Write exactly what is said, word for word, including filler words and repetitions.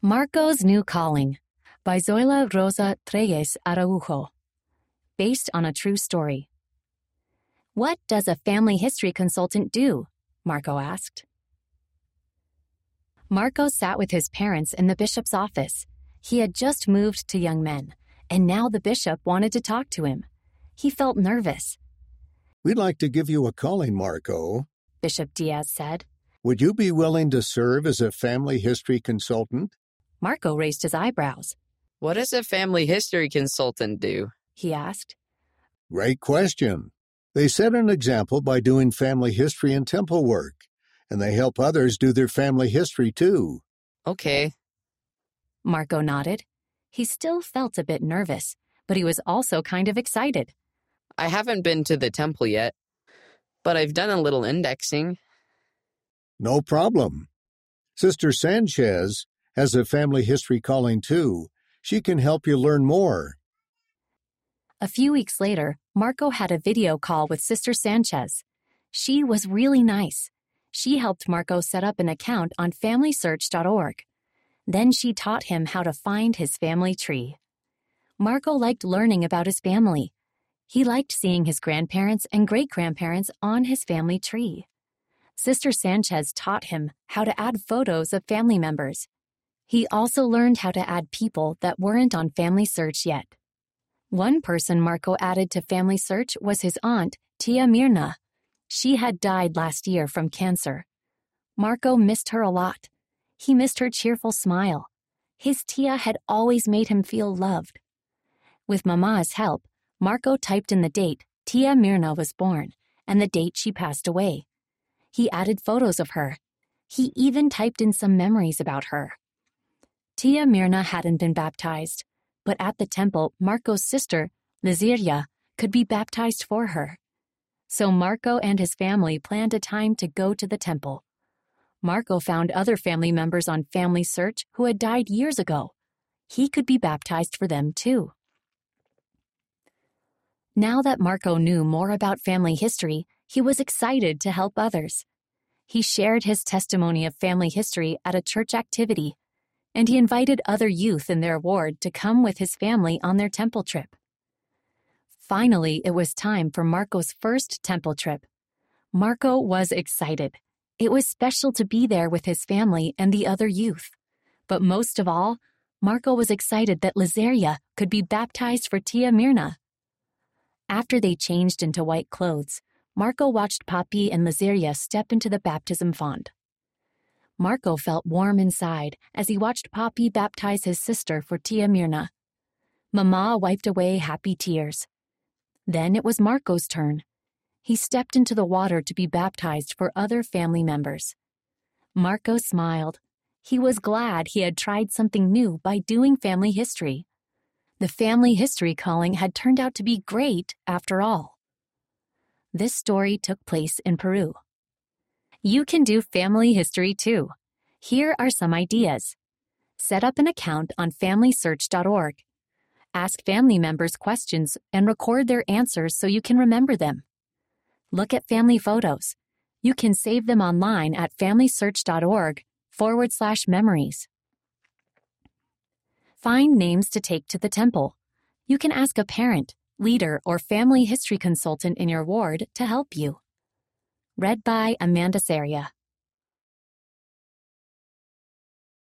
Marco's New Calling by Zoila Rosa Treyes Araujo. Based on a true story. What does a family history consultant do? Marco asked. Marco sat with his parents in the bishop's office. He had just moved to Young Men, and now the bishop wanted to talk to him. He felt nervous. "We'd like to give you a calling, Marco," Bishop Diaz said. "Would you be willing to serve as a family history consultant?" Marco raised his eyebrows. What does a family history consultant do? He asked. Great question. They set an example by doing family history and temple work, and they help others do their family history too. Okay. Marco nodded. He still felt a bit nervous, but he was also kind of excited. I haven't been to the temple yet, but I've done a little indexing. No problem. Sister Sanchez has a family history calling too. She can help you learn more. A few weeks later, Marco had a video call with Sister Sanchez. She was really nice. She helped Marco set up an account on family search dot org. Then she taught him how to find his family tree. Marco liked learning about his family. He liked seeing his grandparents and great-grandparents on his family tree. Sister Sanchez taught him how to add photos of family members. He also learned how to add people that weren't on Family Search yet. One person Marco added to Family Search was his aunt, Tia Mirna. She had died last year from cancer. Marco missed her a lot. He missed her cheerful smile. His Tia had always made him feel loved. With Mama's help, Marco typed in the date Tia Mirna was born and the date she passed away. He added photos of her. He even typed in some memories about her. Tia Mirna hadn't been baptized, but at the temple, Marco's sister, Liziria, could be baptized for her. So Marco and his family planned a time to go to the temple. Marco found other family members on Family Search who had died years ago. He could be baptized for them too. Now that Marco knew more about family history, he was excited to help others. He shared his testimony of family history at a church activity, and he invited other youth in their ward to come with his family on their temple trip. Finally, it was time for Marco's first temple trip. Marco was excited. It was special to be there with his family and the other youth. But most of all, Marco was excited that Liziria could be baptized for Tia Mirna. After they changed into white clothes, Marco watched Papi and Liziria step into the baptism font. Marco felt warm inside as he watched Papi baptize his sister for Tia Mirna. Mama wiped away happy tears. Then it was Marco's turn. He stepped into the water to be baptized for other family members. Marco smiled. He was glad he had tried something new by doing family history. The family history calling had turned out to be great after all. This story took place in Peru. You can do family history too. Here are some ideas. Set up an account on family search dot org. Ask family members questions and record their answers so you can remember them. Look at family photos. You can save them online at family search dot org forward slash memories. Find names to take to the temple. You can ask a parent, leader, or family history consultant in your ward to help you. Read by Amanda Saria.